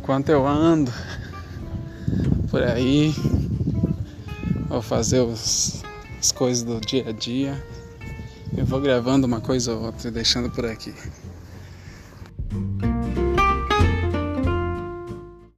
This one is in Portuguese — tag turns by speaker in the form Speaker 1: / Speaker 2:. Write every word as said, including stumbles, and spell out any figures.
Speaker 1: enquanto eu ando por aí, vou fazer os, as coisas do dia a dia, eu vou gravando uma coisa ou outra e deixando por aqui.